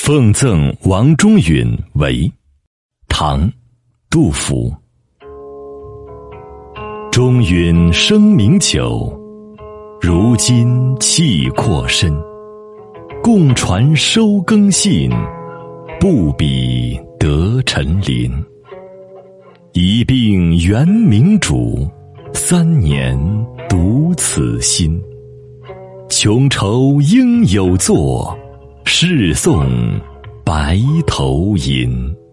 奉赠王中允为，唐，杜甫。中允声名久，如今气阔身。共传收耕信，不比得陈林。一并原明主，3年独此心。穷愁应有作，试送白头吟。